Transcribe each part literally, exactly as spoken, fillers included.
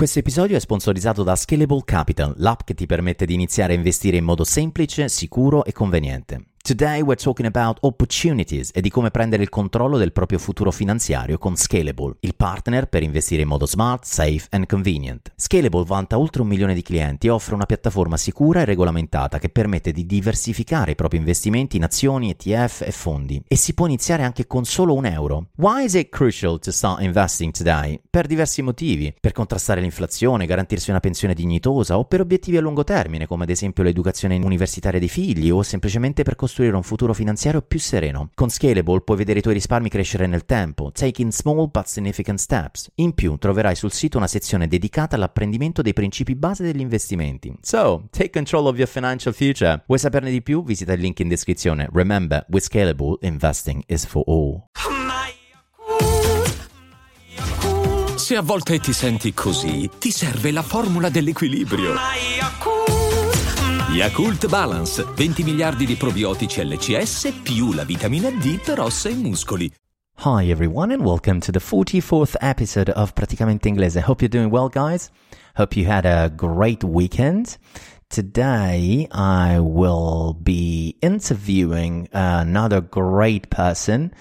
Questo episodio è sponsorizzato da Scalable Capital, l'app che ti permette di iniziare a investire in modo semplice, sicuro e conveniente. Today we're talking about opportunities e di come prendere il controllo del proprio futuro finanziario con Scalable, il partner per investire in modo smart, safe and convenient. Scalable vanta oltre un milione di clienti e offre una piattaforma sicura e regolamentata che permette di diversificare i propri investimenti in azioni, E T F e fondi. E si può iniziare anche con solo un euro. Why is it crucial to start investing today? Per diversi motivi. Per contrastare l'inflazione, garantirsi una pensione dignitosa o per obiettivi a lungo termine, come ad esempio l'educazione universitaria dei figli o semplicemente per costruire un futuro finanziario più sereno. Con Scalable puoi vedere i tuoi risparmi crescere nel tempo, taking small but significant steps. In più troverai sul sito una sezione dedicata all'apprendimento dei principi base degli investimenti. So, take control of your financial future. Vuoi saperne di più? Visita il link in descrizione. Remember, with Scalable, investing is for all. Se a volte ti senti così, ti serve la formula dell'equilibrio. Yakult Balance, venti miliardi di probiotici L C S più la vitamina D per ossa e muscoli. Hi everyone and welcome to the forty-fourth episode of Praticamente Inglese. Hope you're doing well, guys. Hope you had a great weekend. Today I will be interviewing another great person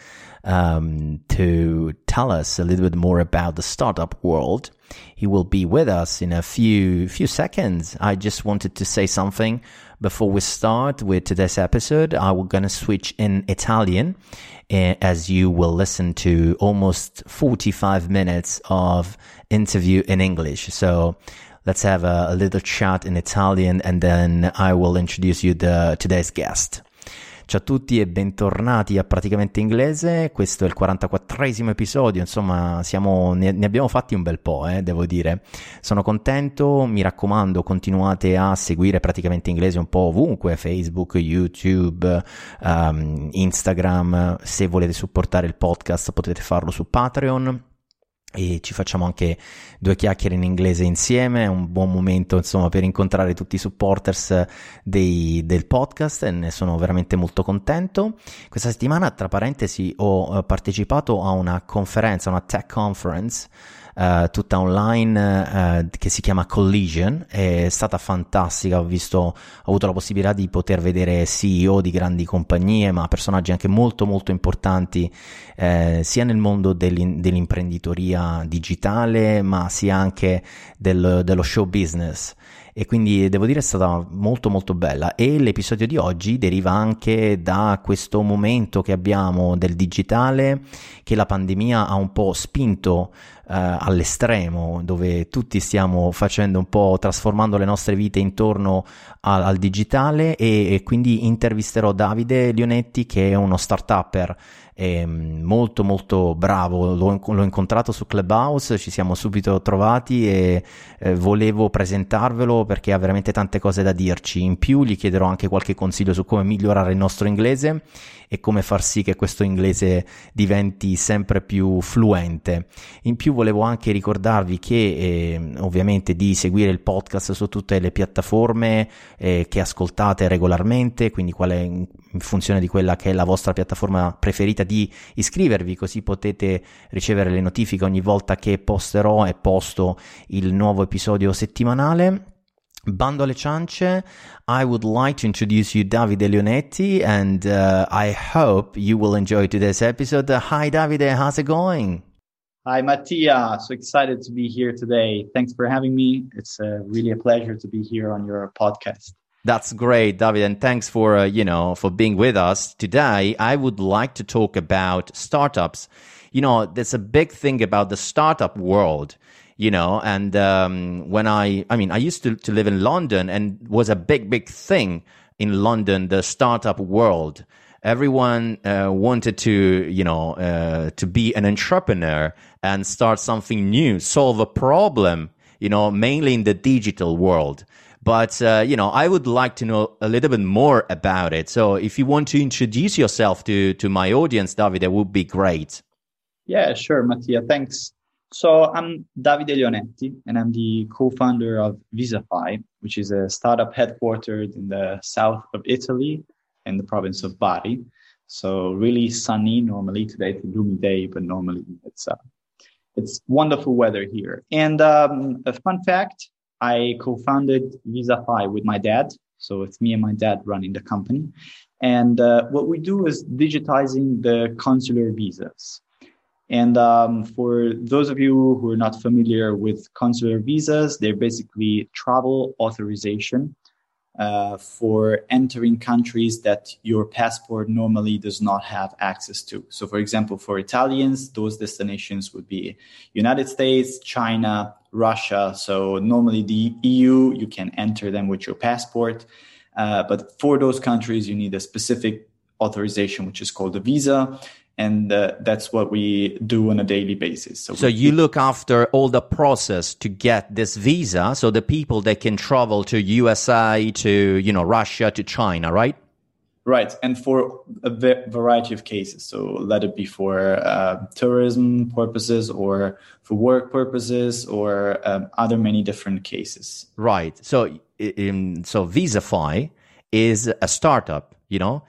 um, to tell us a little bit more about the startup world. He will be with us in a few few seconds. I just wanted to say something before we start with today's episode. I'm going to switch in Italian uh, as you will listen to almost forty-five minutes of interview in English. So let's have a, a little chat in Italian and then I will introduce you the today's guest. Ciao a tutti e bentornati a Praticamente Inglese, questo è il quarantaquattresimo episodio, insomma siamo, ne, ne abbiamo fatti un bel po', eh, devo dire. Sono contento, mi raccomando continuate a seguire Praticamente Inglese un po' ovunque, Facebook, YouTube, um, Instagram, se volete supportare il podcast potete farlo su Patreon. E ci facciamo anche due chiacchiere in inglese insieme, è un buon momento insomma per incontrare tutti i supporters dei, del podcast e ne sono veramente molto contento. Questa settimana, tra parentesi, ho partecipato a una conferenza, una tech conference Uh, tutta online uh, che si chiama Collision, è stata fantastica, ho visto, ho avuto la possibilità di poter vedere C E O di grandi compagnie ma personaggi anche molto molto importanti eh, sia nel mondo dell'in- dell'imprenditoria digitale ma sia anche del, dello show business. E quindi devo dire è stata molto molto bella e l'episodio di oggi deriva anche da questo momento che abbiamo del digitale che la pandemia ha un po' spinto uh, all'estremo, dove tutti stiamo facendo un po' trasformando le nostre vite intorno a, al digitale e, e quindi intervisterò Davide Leonetti che è uno start-upper è molto molto bravo, l'ho, l'ho incontrato su Clubhouse, ci siamo subito trovati e eh, volevo presentarvelo perché ha veramente tante cose da dirci. In più gli chiederò anche qualche consiglio su come migliorare il nostro inglese e come far sì che questo inglese diventi sempre più fluente. In più volevo anche ricordarvi che eh, ovviamente di seguire il podcast su tutte le piattaforme eh, che ascoltate regolarmente, quindi quale in funzione di quella che è la vostra piattaforma preferita di iscrivervi, così potete ricevere le notifiche ogni volta che posterò e posto il nuovo episodio settimanale. Bando alle ciance, I would like to introduce you Davide Leonetti and uh, I hope you will enjoy today's episode. Uh, hi Davide, how's it going? Hi Mattia, so excited to be here today. Thanks for having me. It's uh, really a pleasure to be here on your podcast. That's great, David, and thanks for uh, you know for being with us today. I would like to talk about startups. You know, there's a big thing about the startup world, you know, and um, when I, I mean, I used to, to live in London and was a big, big thing in London, the startup world. Everyone uh, wanted to, you know, uh, to be an entrepreneur and start something new, solve a problem, you know, mainly in the digital world. But, uh, you know, I would like to know a little bit more about it. So if you want to introduce yourself to, to my audience, Davide, that would be great. Yeah, sure, Mattia. Thanks. So I'm Davide Leonetti, and I'm the co-founder of Visafy, which is a startup headquartered in the south of Italy in the province of Bari. So really sunny normally. Today it's a gloomy day, but normally it's uh, it's wonderful weather here. And um, a fun fact, I co-founded VisaFi with my dad. So it's me and my dad running the company. And uh, what we do is digitizing the consular visas. And um, for those of you who are not familiar with consular visas, they're basically travel authorization uh, for entering countries that your passport normally does not have access to. So, for example, for Italians, those destinations would be United States, China, Russia. So normally the E U, you can enter them with your passport. Uh, but for those countries, you need a specific authorization, which is called a visa. And uh, that's what we do on a daily basis. So, so you look after all the process to get this visa. So the people that can travel to U S A, to, you know, Russia, to China, right? Right. And for a variety of cases. So let it be for uh, tourism purposes or for work purposes or um, other many different cases. Right. So, um, so VisaFi is a startup, you know,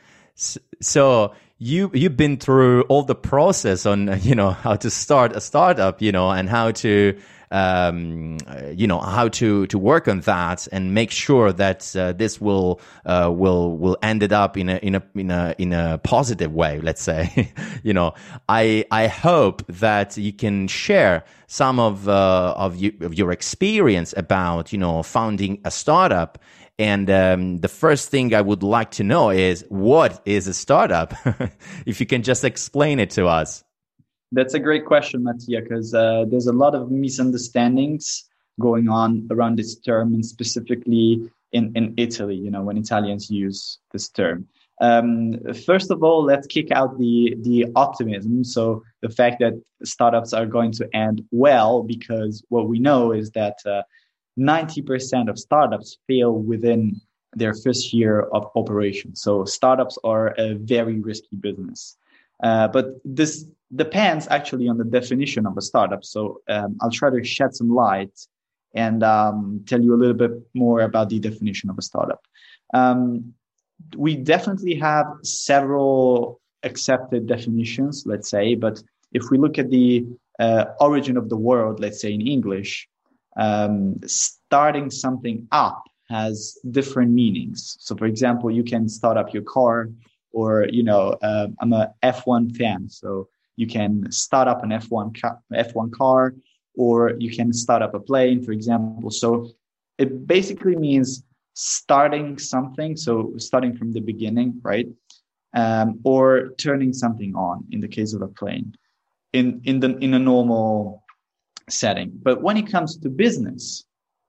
so you, you've been through all the process on, you know, how to start a startup, you know, and how to, um, you know, how to, to work on that and make sure that uh, this will, uh, will, will end it up in a, in a, in a, in a positive way, let's say. You know, I, I hope that you can share some of, uh, of, you, of your experience about, you know, founding a startup. And um, the first thing I would like to know is, what is a startup? If you can just explain it to us. That's a great question, Mattia, because uh, there's a lot of misunderstandings going on around this term, and specifically in, in Italy, you know, when Italians use this term. Um, first of all, let's kick out the, the optimism. So the fact that startups are going to end well, because what we know is that uh, ninety percent of startups fail within their first year of operation. So startups are a very risky business. Uh, but this depends actually on the definition of a startup. So um, I'll try to shed some light and um, tell you a little bit more about the definition of a startup. Um, we definitely have several accepted definitions, let's say, but if we look at the uh, origin of the word, let's say in English, um, starting something up has different meanings. So for example, you can start up your car, or, you know, uh, I'm a F one fan, so you can start up an F one car, F one car, or you can start up a plane, for example. So it basically means starting something, so starting from the beginning, right? Um, or turning something on in the case of a plane in, in the, in a normal setting. But when it comes to business,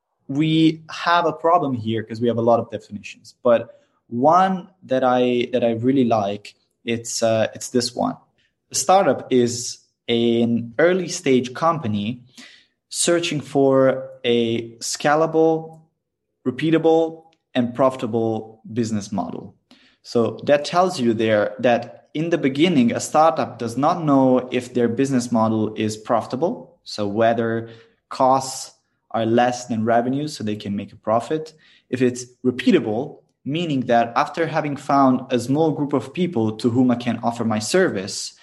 we have a problem here because we have a lot of definitions. But one that I that I really like, it's uh, it's this one. A startup is an early stage company searching for a scalable, repeatable, and profitable business model. So that tells you there that in the beginning, a startup does not know if their business model is profitable. So whether costs are less than revenues so they can make a profit. If it's repeatable, meaning that after having found a small group of people to whom I can offer my service,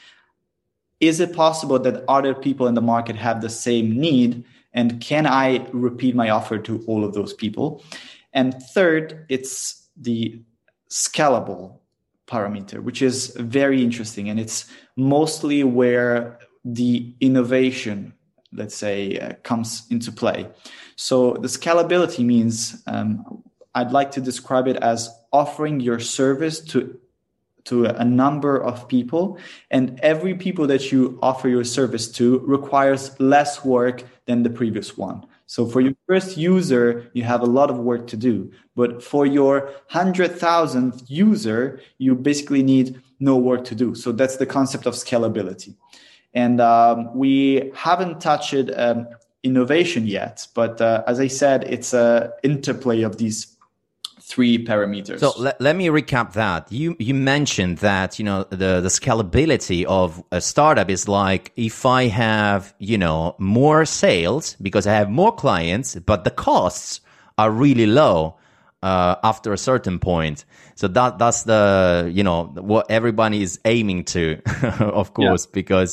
is it possible that other people in the market have the same need? And can I repeat my offer to all of those people? And third, it's the scalable parameter, which is very interesting. And it's mostly where the innovation, let's say, uh, comes into play. So the scalability means, um, I'd like to describe it as offering your service to to a number of people, and every people that you offer your service to requires less work than the previous one. So for your first user, you have a lot of work to do, but for your one hundred thousandth user, you basically need no work to do. So that's the concept of scalability. And um, we haven't touched um, innovation yet, but uh, as I said, it's an interplay of these three parameters. So let, let me recap that. You you mentioned that, you know, the, the scalability of a startup is like, if I have, you know, more sales because I have more clients, but the costs are really low uh, after a certain point. So that that's the, you know, what everybody is aiming to, of course, yeah. Because,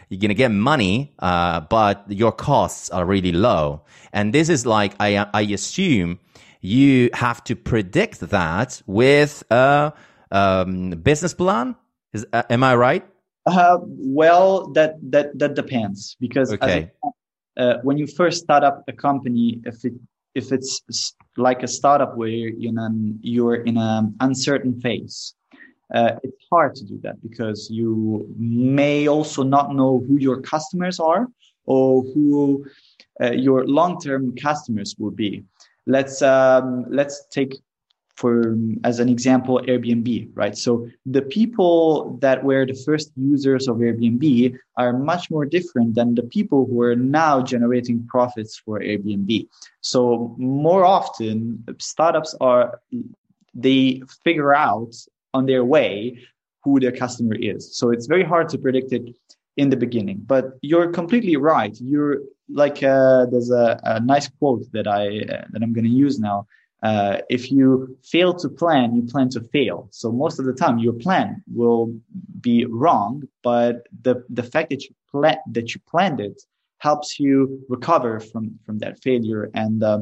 you're going to get money, uh, but your costs are really low. And this is like, I, I assume you have to predict that with a um, business plan. Is, uh, am I right? Uh, well, that, that, that depends because okay. as a, uh, when you first start up a company, if it, if it's like a startup where you're in an, you're in an uncertain phase, uh, it's hard to do that because you may also not know who your customers are or who uh, your long-term customers will be. Let's um, let's take for as an example Airbnb, right? So the people that were the first users of Airbnb are much more different than the people who are now generating profits for Airbnb. So more often startups are, they figure out on their way who their customer is. So it's very hard to predict it in the beginning, but you're completely right. You're like, uh, there's a, a nice quote that I, uh, that I'm going to use now. Uh, if you fail to plan, you plan to fail. So most of the time your plan will be wrong, but the, the fact that you plan, that you planned it helps you recover from, from that failure. And, uh,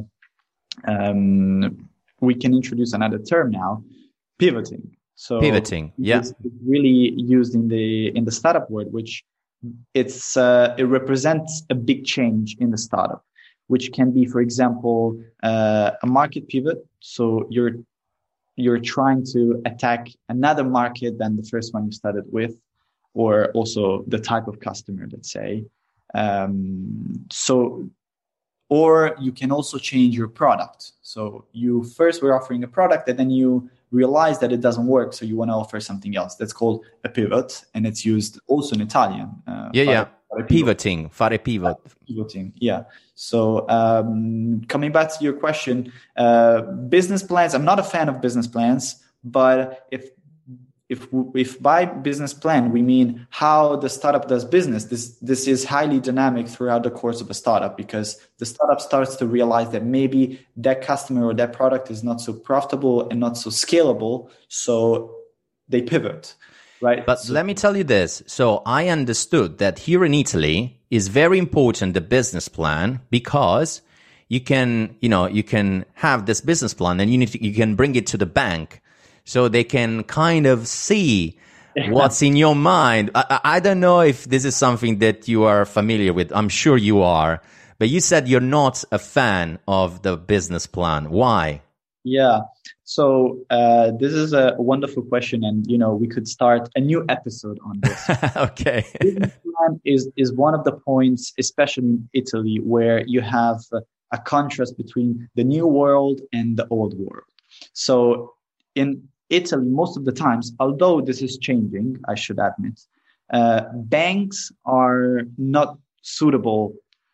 um, we can introduce another term now, pivoting. So pivoting. Yeah. It's really used in the, in the startup world, which it's, uh, it represents a big change in the startup, which can be, for example, uh, a market pivot. So you're you're trying to attack another market than the first one you started with, or also the type of customer, let's say. Um, so, or you can also change your product. So you first were offering a product and then you realize that it doesn't work. So you want to offer something else. That's called a pivot. And it's used also in Italian. Uh, yeah, yeah. Pivoting, fare pivot. Pivoting, yeah. So um, coming back to your question, uh, business plans. I'm not a fan of business plans, but if if if by business plan we mean how the startup does business, this this is highly dynamic throughout the course of a startup because the startup starts to realize that maybe that customer or that product is not so profitable and not so scalable, so they pivot. Right. But so, let me tell you this. So I understood that here in Italy is very important, the business plan, because you can, you know, you can have this business plan and you need to, you can bring it to the bank so they can kind of see what's in your mind. I, I don't know if this is something that you are familiar with. I'm sure you are, but you said you're not a fan of the business plan. Why? Yeah. So uh, this is a wonderful question, and you know we could start a new episode on this. Okay. Business plan is is one of the points, especially in Italy, where you have a contrast between the new world and the old world. So in Italy, most of the times, although this is changing, I should admit, uh, banks are not suitable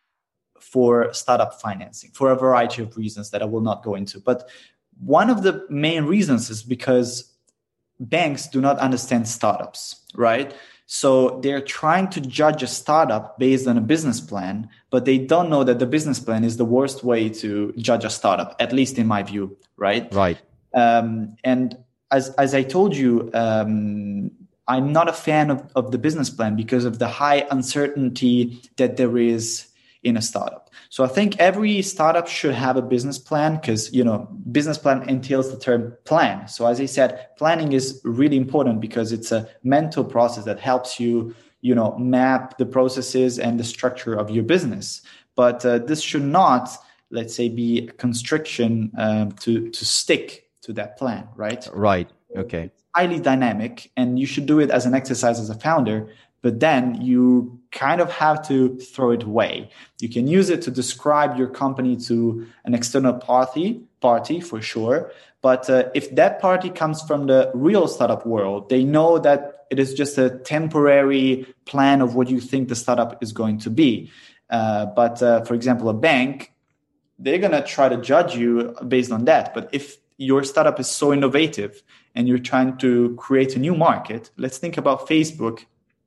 for startup financing for a variety of reasons that I will not go into, but one of the main reasons is because banks do not understand startups, right? So they're trying to judge a startup based on a business plan, but they don't know that the business plan is the worst way to judge a startup, at least in my view, right? Right. Um, and as as I told you, um, I'm not a fan of, of the business plan because of the high uncertainty that there is in a startup. So I think every startup should have a business plan because, you know, business plan entails the term plan. So as I said, planning is really important because it's a mental process that helps you, you know, map the processes and the structure of your business. But uh, this should not, let's say, be a constriction um, to, to stick to that plan, right? Right. Okay. It's highly dynamic and you should do it as an exercise as a founder. But then you kind of have to throw it away. You can use it to describe your company to an external party, party for sure. But uh, if that party comes from the real startup world, they know that it is just a temporary plan of what you think the startup is going to be. Uh, but uh, for example, a bank, they're going to try to judge you based on that. But if your startup is so innovative and you're trying to create a new market, let's think about Facebook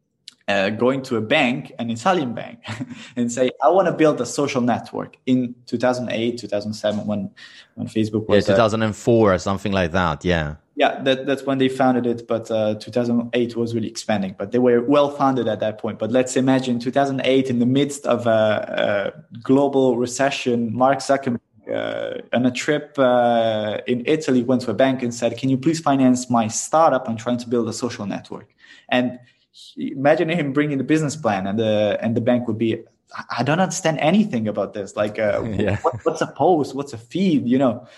uh, going to a bank, an Italian bank, and say, I want to build a social network in two thousand eight, two thousand seven, when, when Facebook was... Yeah, two thousand four uh, or something like that, yeah. Yeah, that, that's when they founded it, but uh, two thousand eight was really expanding. But they were well founded at that point. But let's imagine two thousand eight, in the midst of a, a global recession, Mark Zuckerberg uh, on a trip uh, in Italy went to a bank and said, can you please finance my startup? I'm trying to build a social network. And he, imagine him bringing the business plan, and the and the bank would be, I don't understand anything about this. Like, uh, yeah. what, what's a post? What's a feed? You know?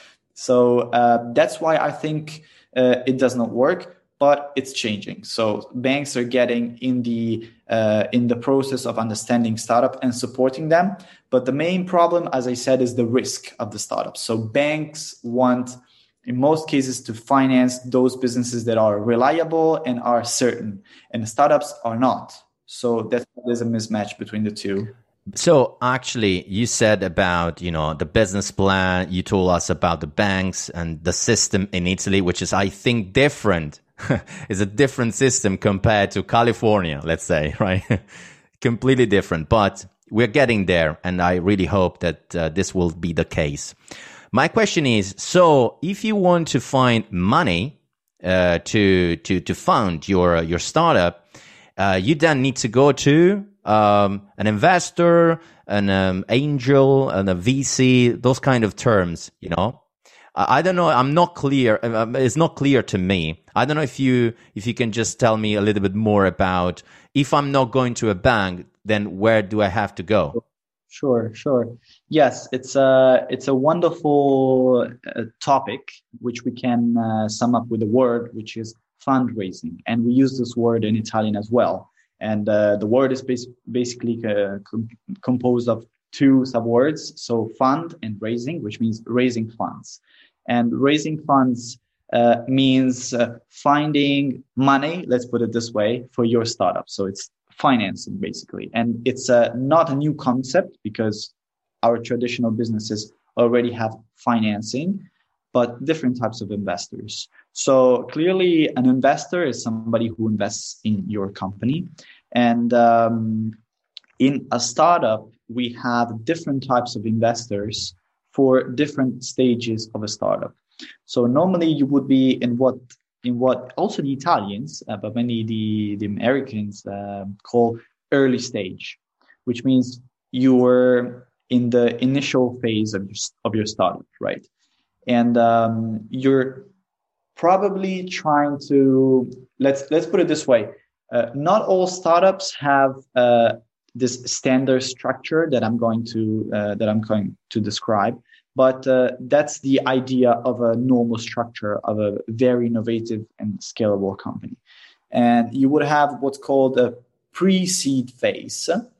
So uh, that's why I think... Uh, it does not work, but it's changing. So banks are getting in the uh, in the process of understanding startup and supporting them. But the main problem, as I said, is the risk of the startup. So banks want, in most cases, to finance those businesses that are reliable and are certain, and startups are not. So that's there's a mismatch between the two. So actually, you said about, you know, the business plan, you told us about the banks and the system in Italy, which is, I think, different. It's a different system compared to California, let's say, right? Completely different, but we're getting there. And I really hope that uh, this will be the case. My question is, so if you want to find money uh, to, to, to fund your, your startup, uh, you then need to go to Um, an investor, an um, angel, and a V C, those kind of terms, you know. I, I don't know. I'm not clear. Um, it's not clear to me. I don't know if you if you can just tell me a little bit more about, if I'm not going to a bank, then where do I have to go? Sure, sure. Yes, it's a it's a wonderful uh, topic, which we can uh, sum up with a word, which is fundraising, and we use this word in Italian as well. And uh, the word is bas- basically uh, com- composed of two subwords, so fund and raising, which means raising funds. And raising funds uh, means uh, finding money, let's put it this way, for your startup. So it's financing, basically. And it's uh, not a new concept, because our traditional businesses already have financing, but different types of investors. So clearly, an investor is somebody who invests in your company. And um, in a startup, we have different types of investors for different stages of a startup. So normally you would be in what, in what also the Italians, uh, but many the, the Americans uh, call early stage, which means you're in the initial phase of your, of your startup, right? And um, you're probably trying to, let's let's put it this way. Uh, not all startups have uh, this standard structure that I'm going to uh, that I'm going to describe, but uh, that's the idea of a normal structure of a very innovative and scalable company. And you would have what's called a pre-seed phase, uh,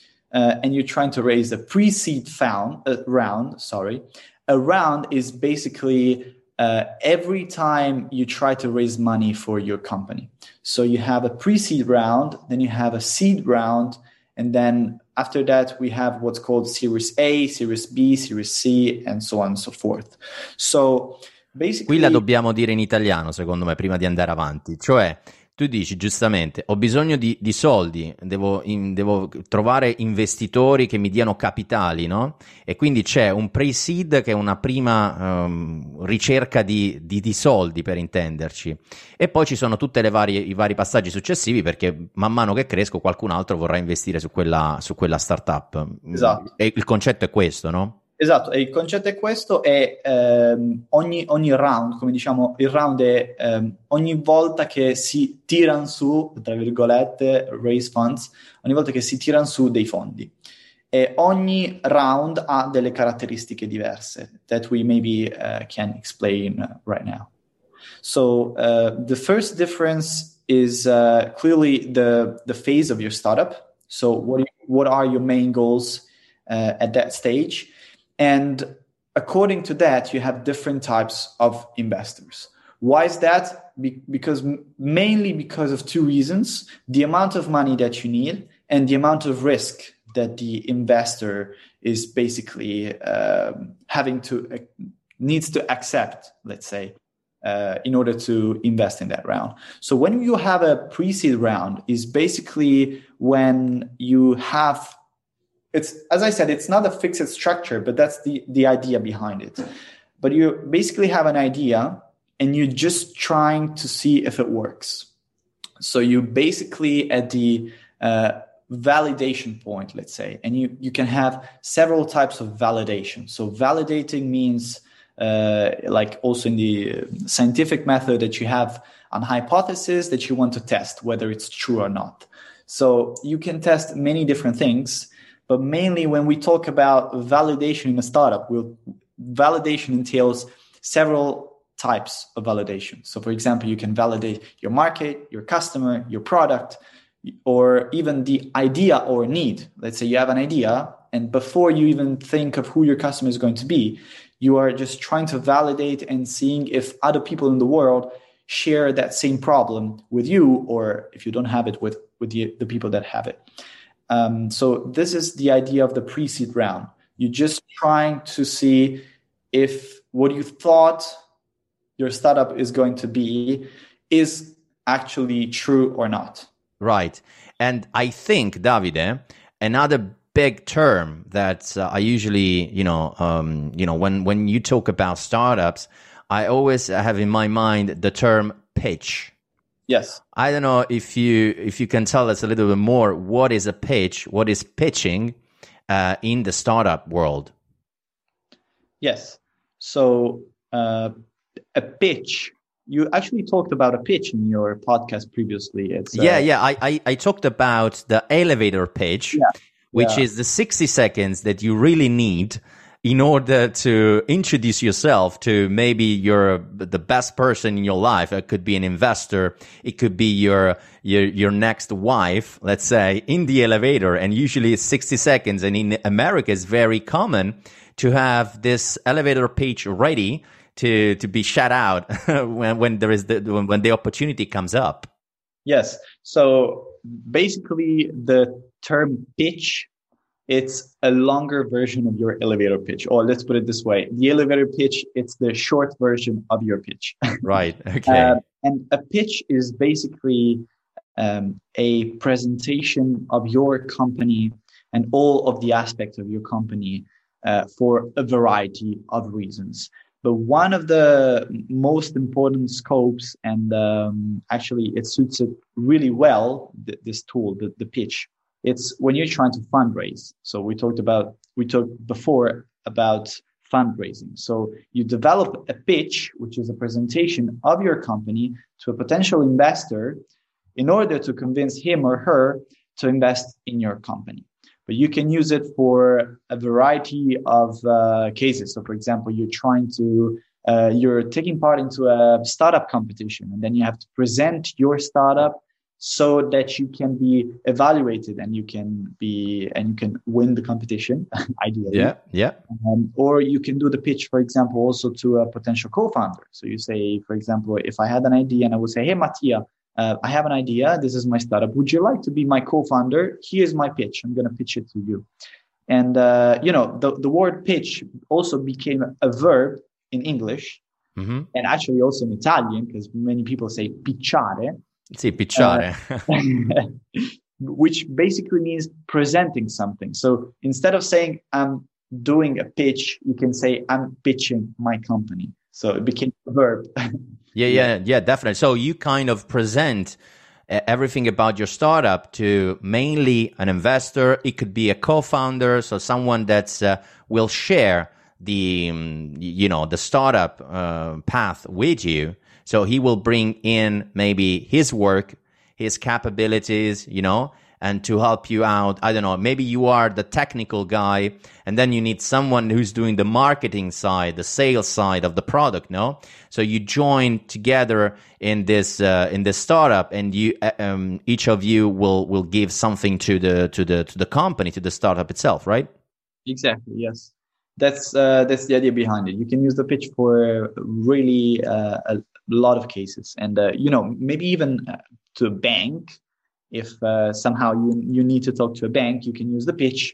and you're trying to raise a pre-seed found, uh, round. Sorry. A round is basically uh, every time you try to raise money for your company. So you have a pre-seed round, then you have a seed round, and then after that we have what's called Series A, Series B, Series C, and so on and so forth. So basically... Qui la dobbiamo dire in italiano, secondo me, prima di andare avanti. Cioè, tu dici giustamente, ho bisogno di, di soldi, devo, in, devo trovare investitori che mi diano capitali, no? E quindi c'è un pre-seed che è una prima um, ricerca di, di, di soldi, per intenderci. E poi ci sono tutte le varie, i vari passaggi successivi, perché man mano che cresco qualcun altro vorrà investire su quella, su quella startup. Esatto. E il concetto è questo, no? Esatto, e il concetto è questo, e ehm, ogni, ogni round, come diciamo, il round è ehm, ogni volta che si tirano su, tra virgolette, raise funds, ogni volta che si tirano su dei fondi. E ogni round ha delle caratteristiche diverse that we maybe uh, can explain right now. So uh, the first difference is uh, clearly the, the phase of your startup. So what, what are your main goals uh, at that stage? And according to that, you have different types of investors. Why is that? Be- because mainly because of two reasons: the amount of money that you need and the amount of risk that the investor is basically uh, having to uh, needs to accept, let's say. uh, in order to invest in that round. So when you have a pre-seed round, is basically when you have, it's, as I said, it's not a fixed structure, but that's the, the idea behind it. But you basically have an idea and you're just trying to see if it works. So you basically at the uh, validation point, let's say, and you, you can have several types of validation. So validating means uh, like also in the scientific method that you have an hypothesis that you want to test whether it's true or not. So you can test many different things, but mainly when we talk about validation in a startup, we'll, validation entails several types of validation. So for example, you can validate your market, your customer, your product, or even the idea or need. Let's say you have an idea, and before you even think of who your customer is going to be, you are just trying to validate and seeing if other people in the world share that same problem with you, or if you don't have it, with, with the, the people that have it. Um, so this is the idea of the pre-seed round. You're just trying to see if what you thought your startup is going to be is actually true or not. Right. And I think, Davide, another big term that uh, I usually, you know, um, you know, when, when you talk about startups, I always have in my mind the term pitch. Yes. I don't know if you if you can tell us a little bit more. What is a pitch? What is pitching uh, in the startup world? Yes. So uh, a pitch. You actually talked about a pitch in your podcast previously. It's uh, yeah, yeah. I, I, I talked about the elevator pitch, yeah, which yeah. is the sixty seconds that you really need in order to introduce yourself to maybe you're the best person in your life. It could be an investor. It could be your your your next wife, let's say, in the elevator. And usually it's sixty seconds. And in America, it's very common to have this elevator pitch ready to to be shut out when when there is the when, when the opportunity comes up. Yes. So basically, the term pitch, it's a longer version of your elevator pitch. Or let's put it this way: the elevator pitch, it's the short version of your pitch. Right. Okay. uh, and a pitch is basically um, a presentation of your company and all of the aspects of your company uh, for a variety of reasons. But one of the most important scopes, and um, actually it suits it really well, th- this tool, the, the pitch, it's when you're trying to fundraise. So we talked about, we talked before about fundraising. So you develop a pitch, which is a presentation of your company to a potential investor in order to convince him or her to invest in your company. But you can use it for a variety of uh, cases. So, for example, you're trying to, uh, you're taking part into a startup competition, and then you have to present your startup so that you can be evaluated and you can be and you can win the competition, ideally. Yeah, yeah. Um, or you can do the pitch, for example, also to a potential co-founder. So you say, for example, if I had an idea and I would say, "Hey, Mattia, Uh, I have an idea. This is my startup. Would you like to be my co-founder? Here's my pitch. I'm going to pitch it to you." And, uh, you know, the, the word pitch also became a verb in English, mm-hmm. and actually also in Italian, because many people say picciare. Sì, picciare. Uh, which basically means presenting something. So instead of saying I'm doing a pitch, you can say I'm pitching my company. So it became a verb. Yeah, yeah, yeah, definitely. So you kind of present uh, everything about your startup to mainly an investor. It could be a co-founder, so someone that's uh, will share the, um, you know, the startup uh, path with you. So he will bring in maybe his work, his capabilities, you know, and to help you out. I don't know, maybe you are the technical guy, and then you need someone who's doing the marketing side, the sales side of the product, no? So you join together in this uh, in this startup, and you um, each of you will will give something to the to the to the company, to the startup itself, right? Exactly. Yes, that's uh, that's the idea behind it. You can use the pitch for really uh, a lot of cases, and uh, you know, maybe even to a bank. If uh, somehow you, you need to talk to a bank, you can use the pitch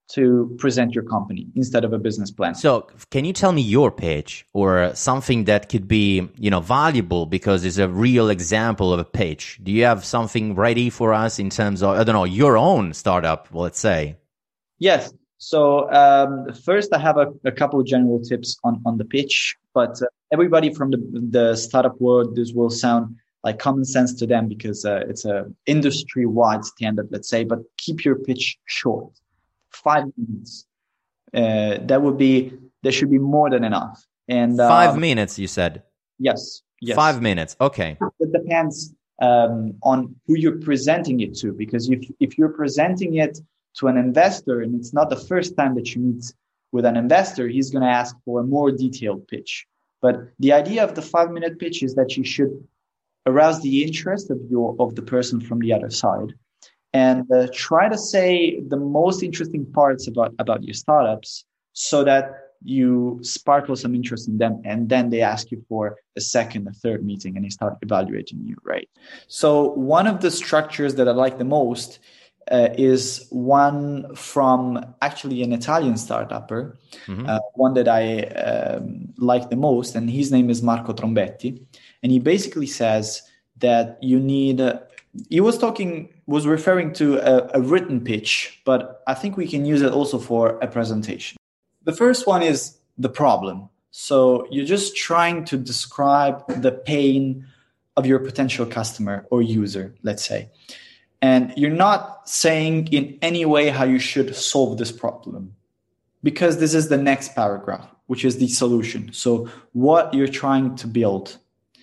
to present your company instead of a business plan. So can you tell me your pitch or something that could be, you know, valuable because it's a real example of a pitch? Do you have something ready for us in terms of, I don't know, your own startup, let's say? Yes. So um, first, I have a, a couple of general tips on, on the pitch, but uh, everybody from the, the startup world, this will sound like common sense to them because uh, it's a industry-wide standard, let's say, but keep your pitch short. Five minutes. Uh, that would be, there should be more than enough. And uh, Five minutes, you said? Yes. Yes. Five minutes. Okay. It depends um, on who you're presenting it to, because if, if you're presenting it to an investor and it's not the first time that you meet with an investor, he's going to ask for a more detailed pitch. But the idea of the five minute pitch is that you should arouse the interest of your, of the person from the other side. And uh, try to say the most interesting parts about, about your startups so that you sparkle some interest in them. And then they ask you for a second, a third meeting, and they start evaluating you, right? So one of the structures that I like the most uh, is one from actually an Italian startupper, mm-hmm. uh, one that I um, like the most. And his name is Marco Trombetti. And he basically says that you need... Uh, He was talking, was referring to a, a written pitch, but I think we can use it also for a presentation. The first one is the problem. So you're just trying to describe the pain of your potential customer or user, let's say. And you're not saying in any way how you should solve this problem, because this is the next paragraph, which is the solution. So what you're trying to build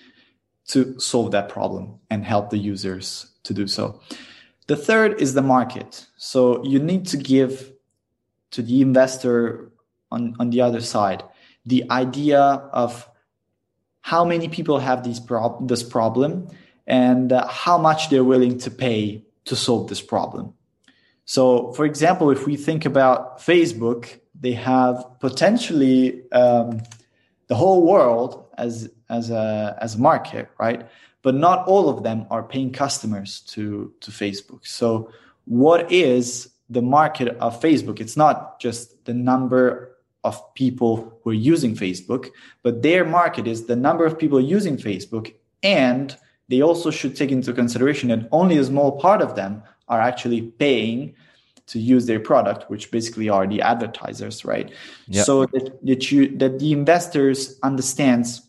to solve that problem and help the users to do so. The third is the market. So you need to give to the investor on, on the other side the idea of how many people have these prob- this problem and uh, how much they're willing to pay to solve this problem. So, for example, if we think about Facebook, they have potentially um, the whole world as as a as a market, right? But not all of them are paying customers to to Facebook. So what is the market of Facebook? It's not just the number of people who are using Facebook, but their market is the number of people using Facebook. And they also should take into consideration that only a small part of them are actually paying to use their product, which basically are the advertisers, right? Yep. So that, that you that the investors understands,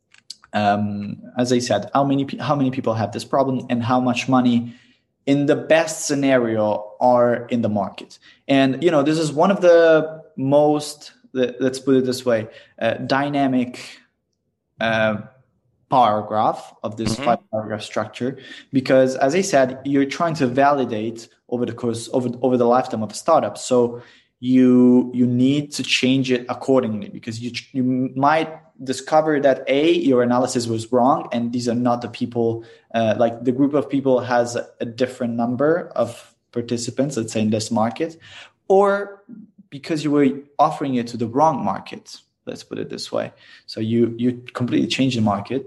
um, as I said, how many how many people have this problem and how much money, in the best scenario, are in the market. And you know, this is one of the most, let's put it this way, uh, dynamic uh, paragraph of this mm-hmm. five paragraph structure, because as I said, you're trying to validate over the course over over the lifetime of a startup. So you you need to change it accordingly, because you you might discover that A, your analysis was wrong, and these are not the people, uh, like the group of people has a, a different number of participants, let's say, in this market, or because you were offering it to the wrong market. Let's put it this way. So you you completely change the market.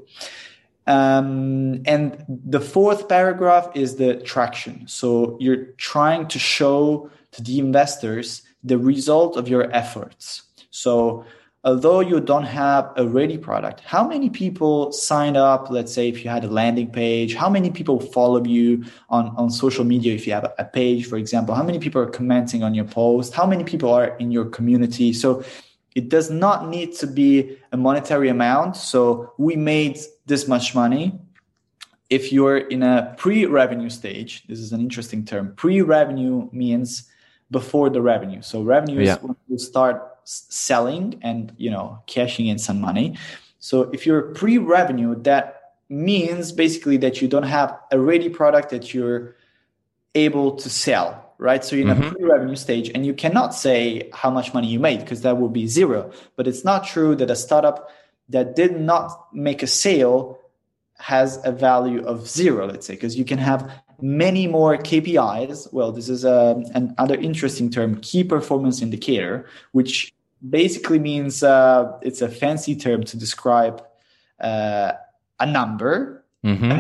Um, and the fourth paragraph is the traction. So you're trying to show to the investors the result of your efforts. So although you don't have a ready product, how many people signed up? Let's say if you had a landing page, how many people follow you on, on social media? If you have a page, for example, how many people are commenting on your post? How many people are in your community? So it does not need to be a monetary amount. So we made this much money. If you're in a pre-revenue stage, this is an interesting term. Pre-revenue means before the revenue. So revenue yeah. is when you start selling and, you know, cashing in some money. So if you're pre-revenue, that means basically that you don't have a ready product that you're able to sell. Right. So you're in mm-hmm. a pre-revenue stage, and you cannot say how much money you made, because that will be zero. But it's not true that a startup that did not make a sale has a value of zero, let's say, because you can have many more K P Is. Well, this is a, another interesting term, key performance indicator, which basically means uh, it's a fancy term to describe uh, a number. Mm-hmm.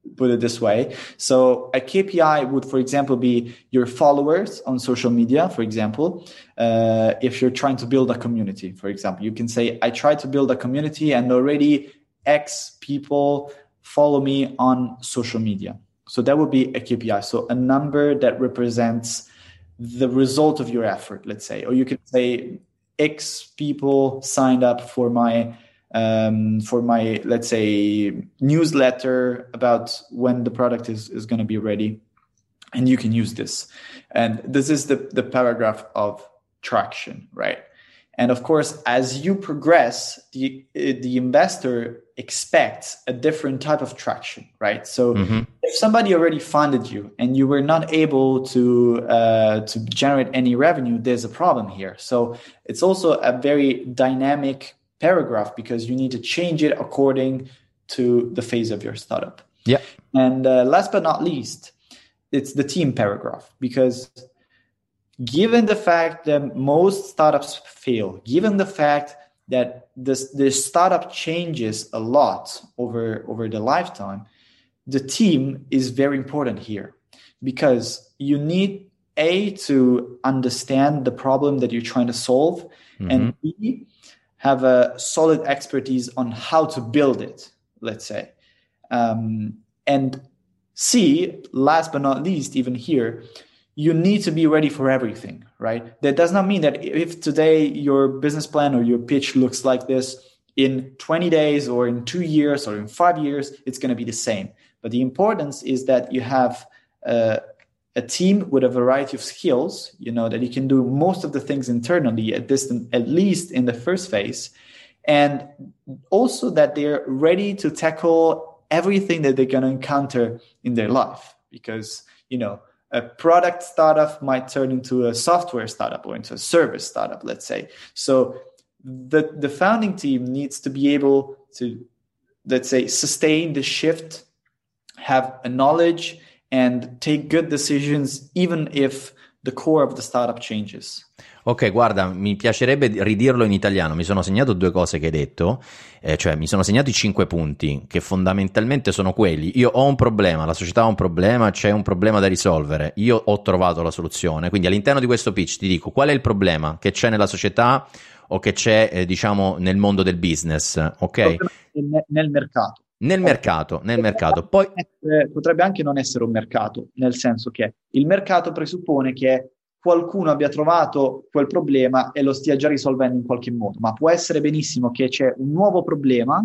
put it this way. So a K P I would, for example, be your followers on social media, for example. Uh, if you're trying to build a community, for example, you can say, I try to build a community and already X people follow me on social media. So that would be a K P I. So a number that represents the result of your effort, let's say. Or you can say X people signed up for my um, for my, let's say, newsletter about when the product is, is going to be ready. And you can use this. And this is the, the paragraph of traction, right? And of course, as you progress, the the investor expects a different type of traction, right? So mm-hmm. if somebody already funded you and you were not able to uh, to generate any revenue, there's a problem here. So it's also a very dynamic paragraph because you need to change it according to the phase of your startup. Yeah. And uh, last but not least, it's the team paragraph, because given the fact that most startups fail, given the fact that this, the startup changes a lot over, over the lifetime, the team is very important here, because you need A, to understand the problem that you're trying to solve, mm-hmm. and B, have a solid expertise on how to build it, let's say. Um, and C, last but not least, even here, you need to be ready for everything, right? That does not mean that if today your business plan or your pitch looks like this, in twenty days or in two years or in five years, it's going to be the same. But the importance is that you have uh, a team with a variety of skills, you know, that you can do most of the things internally, at this, at least in the first phase. And also that they're ready to tackle everything that they're going to encounter in their life. Because, you know, a product startup might turn into a software startup or into a service startup, let's say. So the, the founding team needs to be able to, let's say, sustain the shift, have a knowledge, and take good decisions, even if the core of the startup changes. Ok, guarda, mi piacerebbe ridirlo in italiano. Mi sono segnato due cose che hai detto, eh, cioè mi sono segnato i cinque punti, che fondamentalmente sono quelli. Io ho un problema, la società ha un problema, c'è un problema da risolvere, io ho trovato la soluzione. Quindi all'interno di questo pitch ti dico qual è il problema che c'è nella società o che c'è, eh, diciamo, nel mondo del business, ok? Nel mercato. Nel mercato, nel mercato. Poi potrebbe anche non essere un mercato, nel senso che il mercato presuppone che qualcuno abbia trovato quel problema e lo stia già risolvendo in qualche modo, ma può essere benissimo che c'è un nuovo problema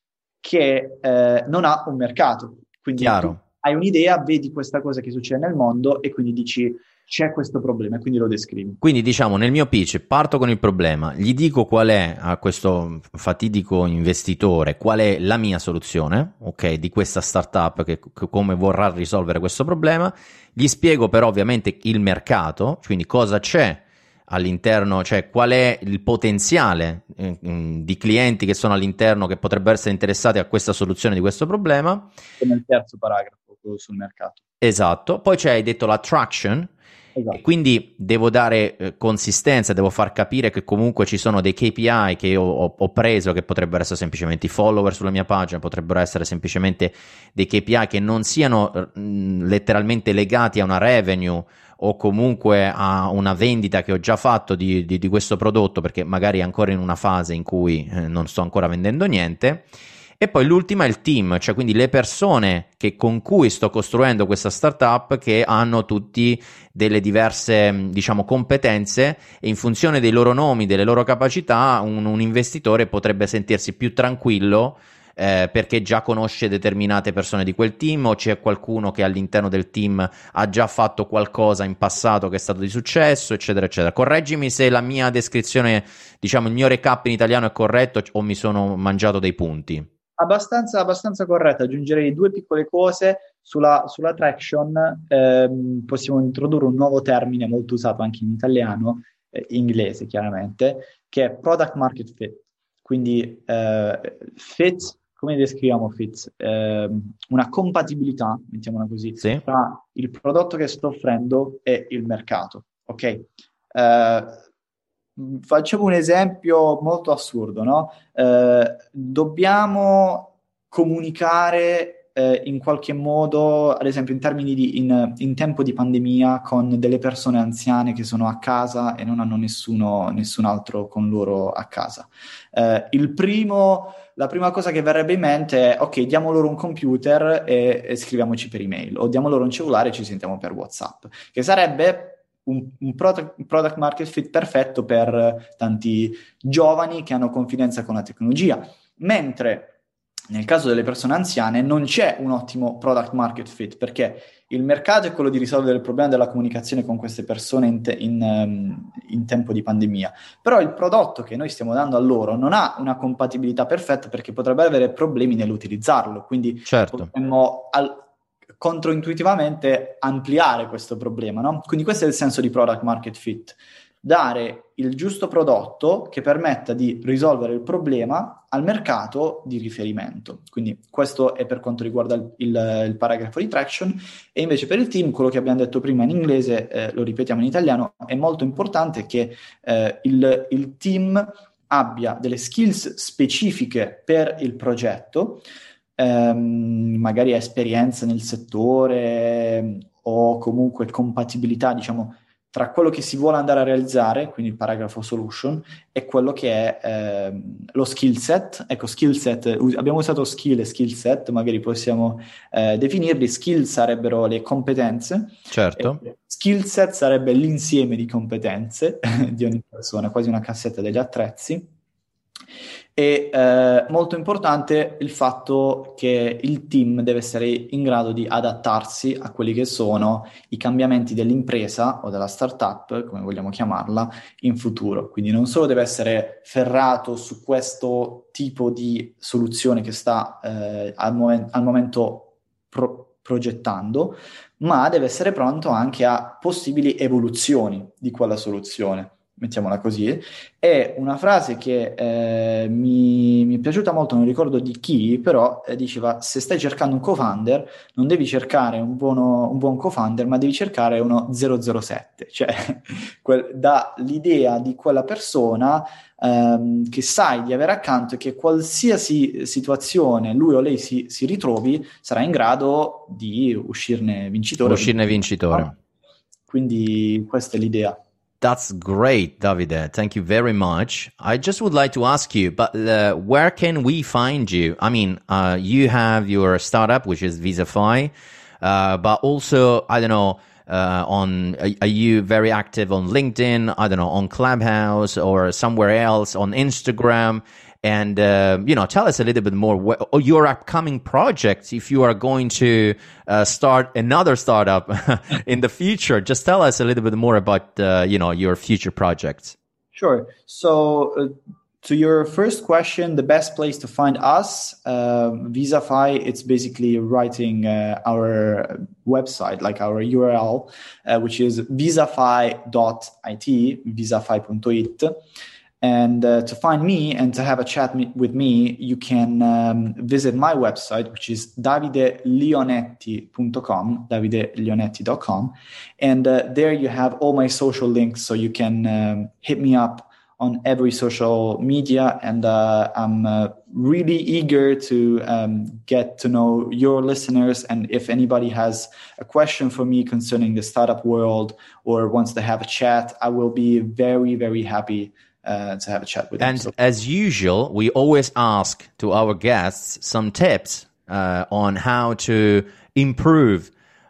che eh, non ha un mercato. Quindi tu hai un'idea, vedi questa cosa che succede nel mondo e quindi dici c'è questo problema e quindi lo descrivi. Quindi diciamo nel mio pitch parto con il problema, gli dico qual è a questo fatidico investitore, qual è la mia soluzione, ok, di questa startup che, che come vorrà risolvere questo problema, gli spiego però ovviamente il mercato, quindi cosa c'è all'interno, cioè qual è il potenziale eh, di clienti che sono all'interno che potrebbero essere interessati a questa soluzione di questo problema. Come il terzo paragrafo, quello sul mercato. Esatto, poi c'è, hai detto la traction. Esatto. E quindi devo dare eh, consistenza, devo far capire che comunque ci sono dei K P I che io ho, ho preso, che potrebbero essere semplicemente i follower sulla mia pagina, potrebbero essere semplicemente dei K P I che non siano mh, letteralmente legati a una revenue o comunque a una vendita che ho già fatto di, di, di questo prodotto, perché magari è ancora in una fase in cui eh, non sto ancora vendendo niente. E poi l'ultima è il team, cioè quindi le persone che, con cui sto costruendo questa startup, che hanno tutti delle diverse, diciamo, competenze, e in funzione dei loro nomi, delle loro capacità, un, un investitore potrebbe sentirsi più tranquillo eh, perché già conosce determinate persone di quel team, o c'è qualcuno che all'interno del team ha già fatto qualcosa in passato che è stato di successo, eccetera eccetera. Correggimi se la mia descrizione, diciamo il mio recap in italiano è corretto o mi sono mangiato dei punti. Abbastanza, abbastanza corretto. Aggiungerei due piccole cose sulla, sulla traction. Ehm, possiamo introdurre un nuovo termine molto usato anche in italiano, eh, inglese chiaramente, che è product market fit. Quindi eh, fit, come descriviamo fit? Eh, una compatibilità, mettiamola così, sì, tra il prodotto che sto offrendo e il mercato. Ok? Eh, Facciamo un esempio molto assurdo, no? Eh, dobbiamo comunicare eh, in qualche modo, ad esempio in termini di in, in tempo di pandemia, con delle persone anziane che sono a casa e non hanno nessuno, nessun altro con loro a casa. Eh, il primo, la prima cosa che verrebbe in mente è: ok, diamo loro un computer e, e scriviamoci per email, o diamo loro un cellulare e ci sentiamo per WhatsApp, che sarebbe un, un product, product market fit perfetto per tanti giovani che hanno confidenza con la tecnologia, mentre nel caso delle persone anziane non c'è un ottimo product market fit, perché il mercato è quello di risolvere il problema della comunicazione con queste persone in, te- in, um, in tempo di pandemia, però il prodotto che noi stiamo dando a loro non ha una compatibilità perfetta, perché potrebbe avere problemi nell'utilizzarlo, quindi Certo. potremmo al- controintuitivamente ampliare questo problema, no? Quindi questo è il senso di product market fit: dare il giusto prodotto che permetta di risolvere il problema al mercato di riferimento. Quindi questo è per quanto riguarda il, il, il paragrafo di traction. E invece per il team, quello che abbiamo detto prima in inglese, eh, lo ripetiamo in italiano: è molto importante che eh, il, il team abbia delle skills specifiche per il progetto, ehm, magari esperienza nel settore o comunque compatibilità, diciamo, tra quello che si vuole andare a realizzare, quindi il paragrafo solution, e quello che è ehm, lo skill set. Ecco, skill set, us- abbiamo usato skill e skill set, magari possiamo eh, definirli. Skill sarebbero le competenze, Certo. e skill set sarebbe l'insieme di competenze di ogni persona, quasi una cassetta degli attrezzi. E eh, molto importante il fatto che il team deve essere in grado di adattarsi a quelli che sono i cambiamenti dell'impresa o della startup, come vogliamo chiamarla, in futuro. Quindi non solo deve essere ferrato su questo tipo di soluzione che sta eh, al, momen- al momento pro- progettando, ma deve essere pronto anche a possibili evoluzioni di quella soluzione, mettiamola così. È una frase che eh, mi, mi è piaciuta molto, non ricordo di chi, però eh, diceva: se stai cercando un co-founder, non devi cercare un, buono, un buon co-founder, ma devi cercare uno zero zero sette, cioè quel, dà l'idea di quella persona ehm, che sai di avere accanto, e che qualsiasi situazione lui o lei si, si ritrovi sarà in grado di uscirne vincitore. Uscirne vincitore. Quindi questa è l'idea. That's great, Davide. Thank you very much. I just would like to ask you, but uh, where can we find you? I mean, uh, you have your startup, which is Visafy, uh, but also, I don't know, uh, on are, are you very active on LinkedIn? I don't know, on Clubhouse or somewhere else, on Instagram? And, uh, you know, tell us a little bit more wh- or your upcoming projects. If you are going to uh, start another startup in the future, just tell us a little bit more about, uh, you know, your future projects. Sure. So uh, to your first question, the best place to find us, uh, Visafy, it's basically writing uh, our website, like our U R L, uh, which is visafy dot it, visafy dot it. And uh, to find me and to have a chat me- with me, you can um, visit my website, which is davide leonetti dot com, davide leonetti dot com. And uh, there you have all my social links, so you can um, hit me up on every social media. And uh, I'm uh, really eager to um, get to know your listeners. And if anybody has a question for me concerning the startup world or wants to have a chat, I will be very, very happy Uh, to have a chat with them. And So. as usual, we always ask to our guests some tips uh, on how to improve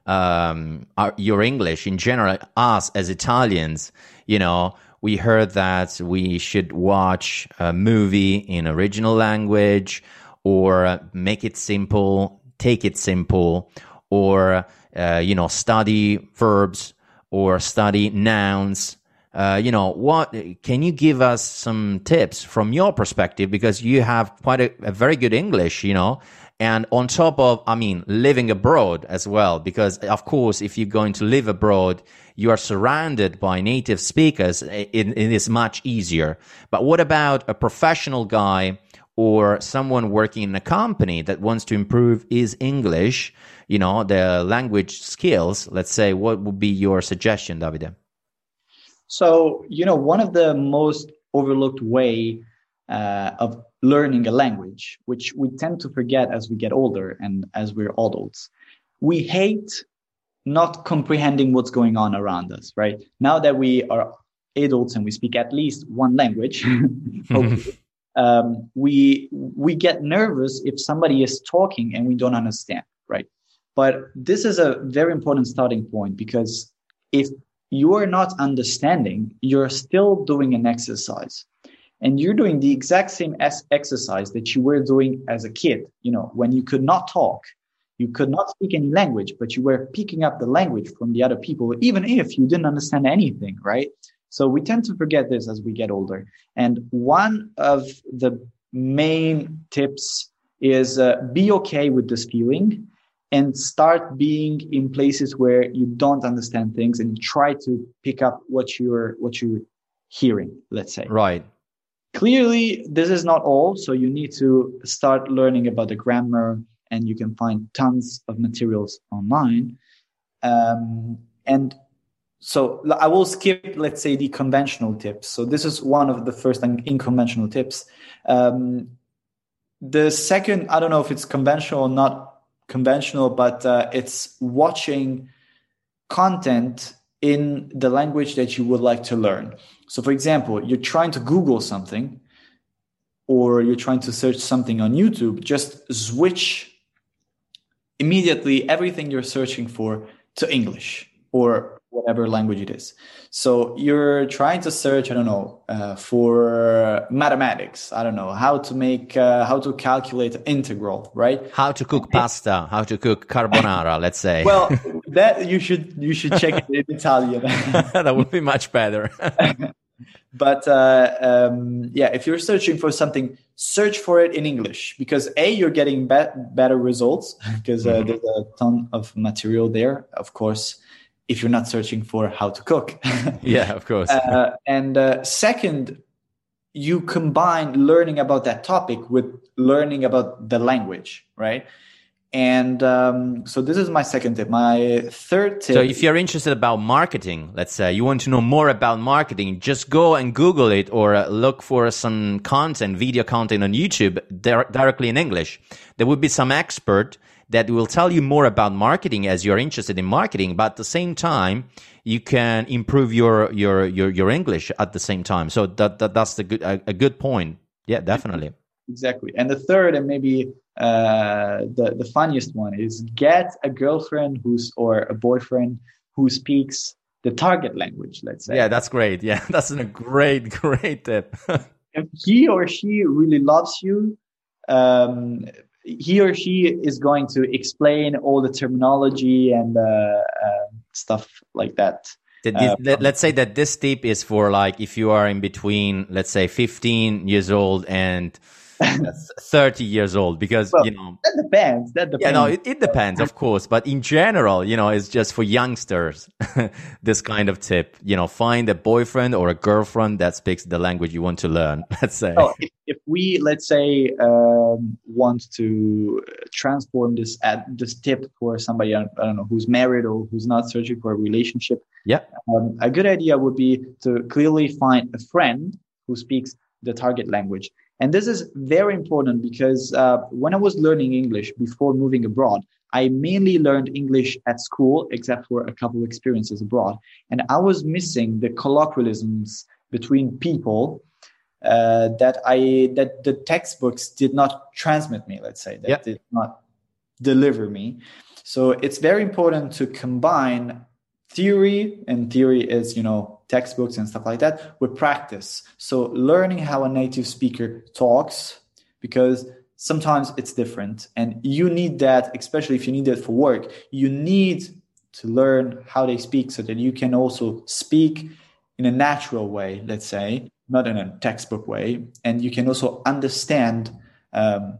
um, our, your English in general. Us as Italians, you know, we heard that we should watch a movie in original language, or make it simple, take it simple, or, uh, you know, study verbs or study nouns. Uh, you know, what can you give us some tips from your perspective, because you have quite a, a very good English, you know, and on top of, I mean, living abroad as well, because of course, if you're going to live abroad, you are surrounded by native speakers. It, it is much easier. But what about a professional guy or someone working in a company that wants to improve his English, you know, the language skills? Let's say, what would be your suggestion, Davide? So, you know, one of the most overlooked way uh, of learning a language, which we tend to forget as we get older and as we're adults. We hate not comprehending what's going on around us, right? Now that we are adults and we speak at least one language, hopefully, um, we we get nervous if somebody is talking and we don't understand, right? But this is a very important starting point, because if you are not understanding, you're still doing an exercise. And you're doing the exact same as exercise that you were doing as a kid, you know, when you could not talk, you could not speak any language, but you were picking up the language from the other people, even if you didn't understand anything, right? So we tend to forget this as we get older. And one of the main tips is uh, be okay with this feeling and start being in places where you don't understand things and try to pick up what you're what you're hearing, let's say. Right. Clearly, this is not all. So you need to start learning about the grammar, and you can find tons of materials online. Um, and So I will skip, let's say, the conventional tips. So this is one of the first unconventional tips. Um, the second, I don't know if it's conventional or not conventional, but uh, it's watching content in the language that you would like to learn. So for example, you're trying to Google something or you're trying to search something on YouTube, just switch immediately everything you're searching for to English or whatever language it is. So you're trying to search, I don't know, uh, for mathematics. I don't know, how to make, uh, how to calculate integral, right? How to cook pasta, how to cook carbonara, let's say. Well, that you should, you should check it in Italian. That would be much better. But uh, um, yeah, if you're searching for something, search for it in English, because A, you're getting be- better results because uh, mm-hmm. there's a ton of material there, of course, if you're not searching for how to cook. Yeah, of course. uh, and uh, second, you combine learning about that topic with learning about the language, right? And um, so this is my second tip. My third tip. So if you're interested about marketing, let's say you want to know more about marketing, just go and Google it or uh, look for some content, video content on YouTube di- directly in English. There will be some expert that will tell you more about marketing as you're interested in marketing, but at the same time, you can improve your your your, your English at the same time. So that, that that's the good a, a good point. Yeah, definitely. Exactly. And the third, and maybe uh, the the funniest one, is get a girlfriend who's or a boyfriend who speaks the target language. Let's say. Yeah, that's great. Yeah, that's a great great tip. If he or she really loves you, um, he or she is going to explain all the terminology and uh, uh, stuff like that. Uh, let's say that this tip is for like if you are in between, let's say fifteen years old and thirty years old, because well, you know that depends. That depends. Yeah, no, it, it depends, of course. But in general, you know, it's just for youngsters. This kind of tip, you know, find a boyfriend or a girlfriend that speaks the language you want to learn. Let's say. Oh, if, if we let's say um, want to transform this ad, this tip for somebody I don't know who's married or who's not searching for a relationship. Yeah, um, a good idea would be to clearly find a friend who speaks the target language. And this is very important because uh, when I was learning English before moving abroad, I mainly learned English at school, except for a couple of experiences abroad. And I was missing the colloquialisms between people uh, that I that the textbooks did not transmit me, let's say, that yep. did not deliver me. So it's very important to combine theory, and theory is, you know, textbooks and stuff like that, with practice. So learning how a native speaker talks, because sometimes it's different and you need that, especially if you need that for work, you need to learn how they speak so that you can also speak in a natural way, let's say, not in a textbook way. And you can also understand um,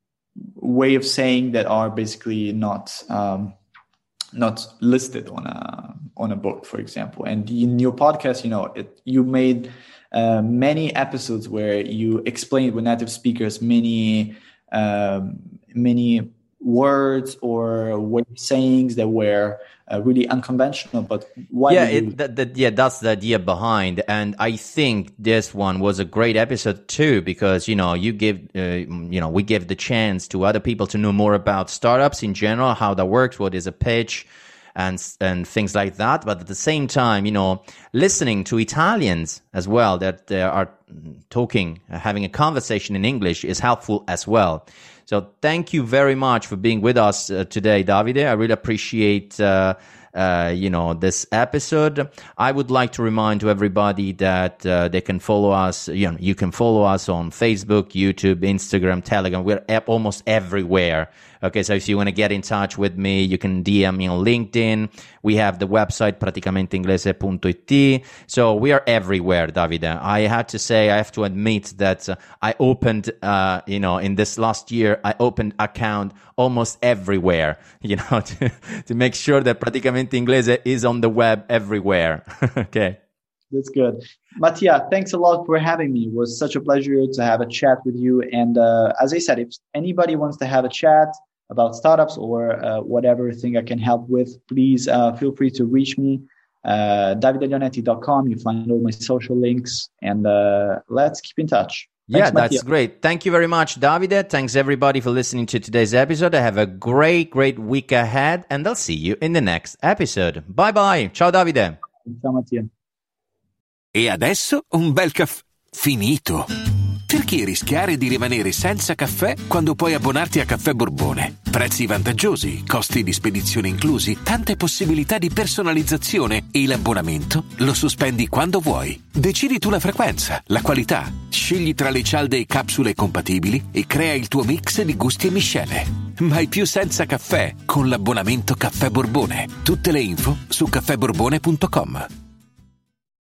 way of saying that are basically not um, not listed on a on a book, for example. And in your podcast, you know, it, you made uh, many episodes where you explained with native speakers many um, many words or way sayings that were uh, really unconventional. But why? Yeah, you... it, that, that, yeah, that's the idea behind. And I think this one was a great episode too, because, you know, you give, uh, you know, we give the chance to other people to know more about startups in general, how that works, what is a pitch, and and things like that. But at the same time, you know, listening to Italians as well that uh, are talking, uh, having a conversation in English is helpful as well. So thank you very much for being with us uh, today, Davide. I really appreciate, uh, uh, you know, this episode. I would like to remind to everybody that uh, they can follow us. You know, you can follow us on Facebook, YouTube, Instagram, Telegram. We're e- almost everywhere. Okay, so if you want to get in touch with me, you can D M me on LinkedIn. We have the website praticamente inglese punto it. So we are everywhere, Davide. I had to say, I have to admit that uh, I opened, uh, you know, in this last year, I opened account almost everywhere, you know, to, to make sure that Praticamente Inglese is on the web everywhere. Okay. That's good. Mattia, thanks a lot for having me. It was such a pleasure to have a chat with you. And uh, as I said, if anybody wants to have a chat about startups or uh, whatever thing I can help with, please uh, feel free to reach me. Uh, davide leonetti dot com. You find all my social links, and uh, let's keep in touch. Thanks, yeah, that's Mattia. great. Thank you very much, Davide. Thanks everybody for listening to today's episode. Have a great, great week ahead, and I'll see you in the next episode. Bye bye. Ciao, Davide. Ciao, Mattia. E adesso un bel caffè finito. Perché rischiare di rimanere senza caffè quando puoi abbonarti a Caffè Borbone? Prezzi vantaggiosi, costi di spedizione inclusi, tante possibilità di personalizzazione e l'abbonamento lo sospendi quando vuoi. Decidi tu la frequenza, la qualità, scegli tra le cialde e capsule compatibili e crea il tuo mix di gusti e miscele. Mai più senza caffè con l'abbonamento Caffè Borbone. Tutte le info su caffè borbone punto com.